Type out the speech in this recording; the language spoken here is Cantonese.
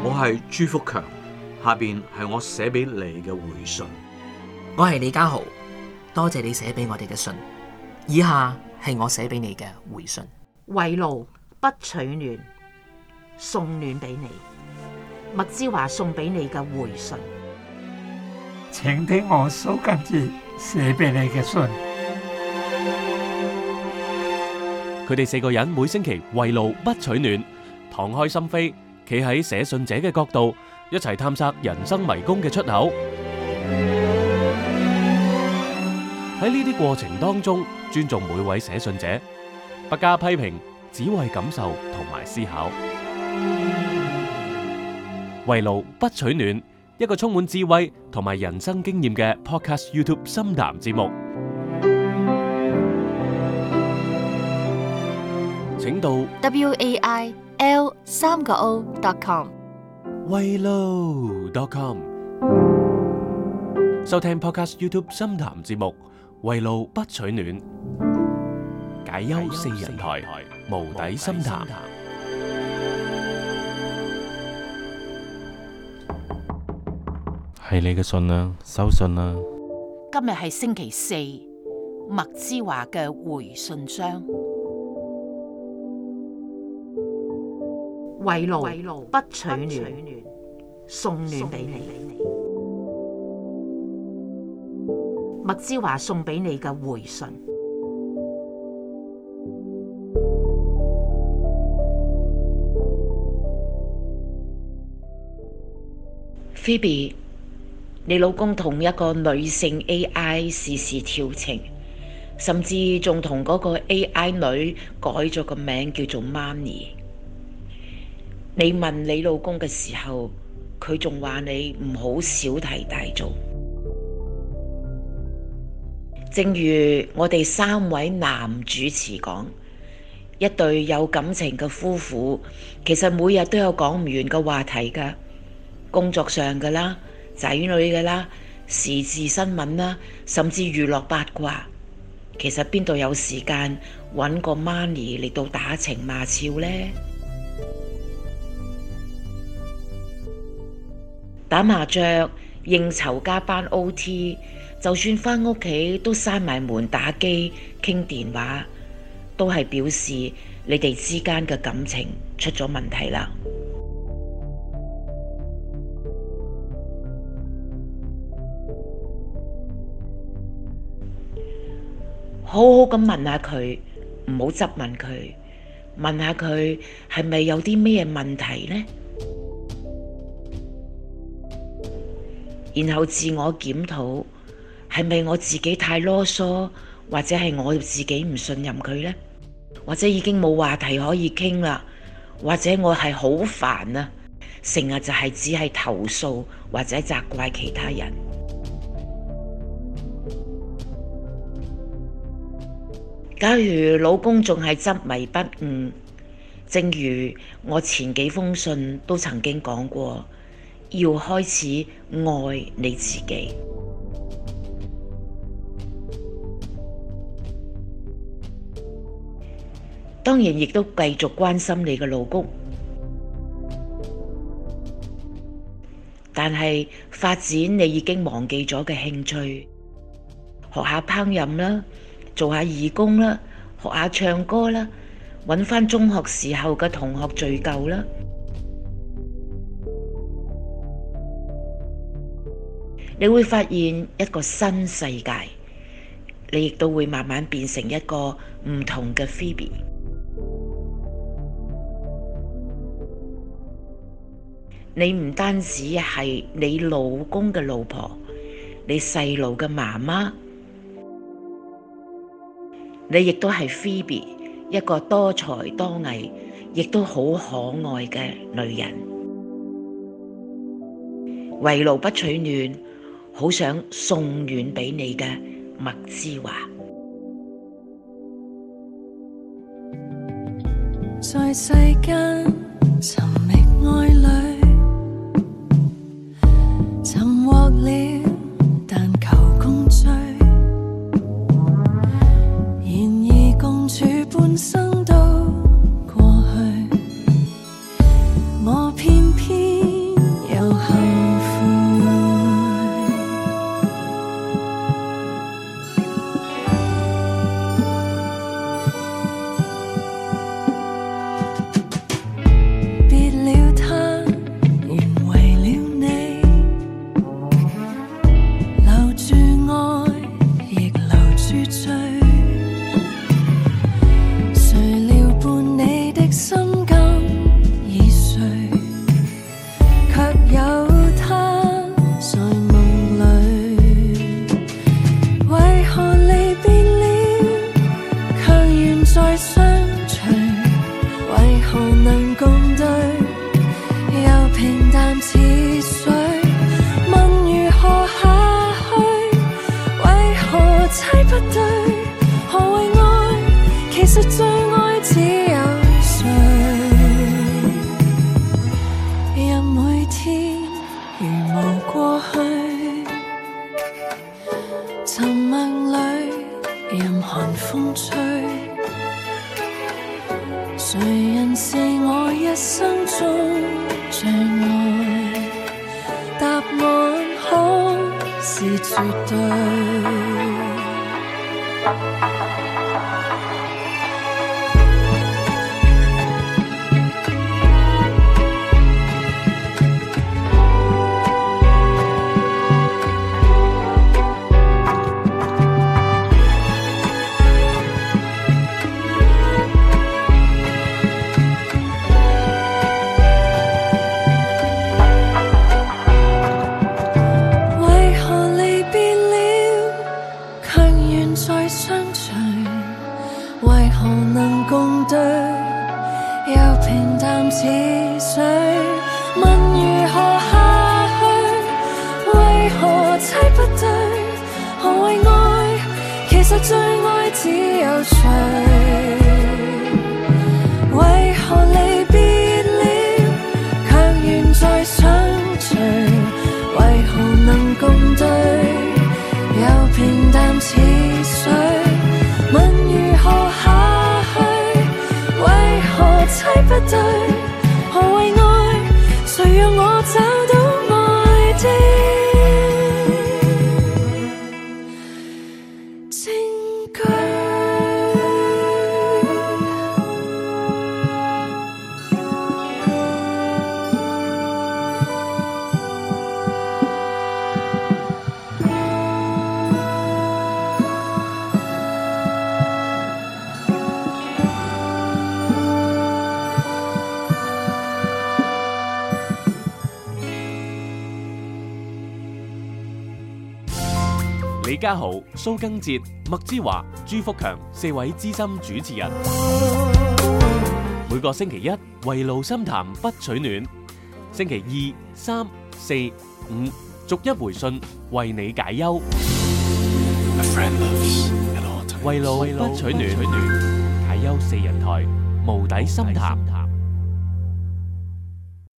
我係朱福強，下邊係我寫俾你嘅回信。 我係李家豪，多謝你寫俾我哋嘅信。以下係我寫俾你嘅回信。 圍爐不取暖，送暖俾你。麥之華送俾你嘅回信。 請聽我蘇賡哲寫俾你嘅信。 佢哋4個人每星期圍爐不取暖，敞開心扉，企喺寫信者嘅角度，一齊探索人生迷宮嘅出口。喺呢啲過程當中，尊重每位寫信者，不加批評，只為感受同埋思考。圍爐不取暖，一個充滿智慧同埋人生經驗嘅 Podcast YouTube 深談節目，請到 WAIL3.com 圍爐.com 收聽 Podcast YouTube 深談節目，圍爐不取暖，解憂4人台，無底深談。 係你嘅信啦，收信啦。 今日係星期四，麥之華嘅回信箱。圍爐不取暖，送暖俾你。麥之華送俾你嘅回信。Phoebe， 你老公同一個女性 AI 時時調情，甚至仲同嗰個 AI 女改咗個名叫做 Money。你問你老公嘅時候，佢仲話你唔好小題大做。正如我哋3位男主持講，一對有感情嘅夫婦，其實每日都有講唔完嘅話題㗎，工作上㗎啦，仔女㗎啦，時事新聞啦，甚至娛樂八卦。其實邊度有時間揾個 Money 嚟到打情罵俏呢？打麻雀、應酬、加班 OT， 就算返屋企都閂埋門打機傾電話，都係表示你哋之間嘅感情出咗問題啦。好好咁問下佢，唔好質問佢，問下佢係咪有啲咩問題呢？然後自我檢討，係咪我自己太囉嗦，或者係我自己唔信任佢呢？或者已經冇話題可以傾啦，或者我係好煩啊，成日就係只係投訴或者責怪其他人。假如老公仲係執迷不悟，正如我前幾封信都曾經講過，要開始愛你自己。當然亦都繼續關心你嘅老公，但係發展你已經忘記咗嘅興趣，學下烹飪啦，做下義工啦，學下唱歌啦，揾返中學時候嘅同學聚舊啦。你會發現一個新世界，你亦都會慢慢變成一個唔同嘅 Phoebe。你唔單止係你老公嘅老婆，你細路嘅媽媽，你亦都係 Phoebe，一個多才多藝，亦都好可愛嘅女人。圍爐不取暖，好想送暖俾你嘅麥之華。 在世間尋覓愛侶，尋獲了但求共聚，然而共處半生都過去，我偏偏實最愛只有誰？任每天如無過去，沉默裏任寒風吹，誰人是我一生中最愛？答案可是絕對。為何能共對，又平淡似水？問如何下去？為何猜不對？何謂愛？其實最愛只有誰？為何離別了，卻願再相隨？為何能共對，又平淡似水？問如何下去？為何猜不對？何謂愛？誰讓我找到愛的證據？ 李家豪、蘇賡哲、麥之華、朱福強4位資深主持人，每個星期一圍爐深談不取暖，星期2、3、4、5逐一回信為你解憂。圍爐不取暖，解憂4人台無底深談。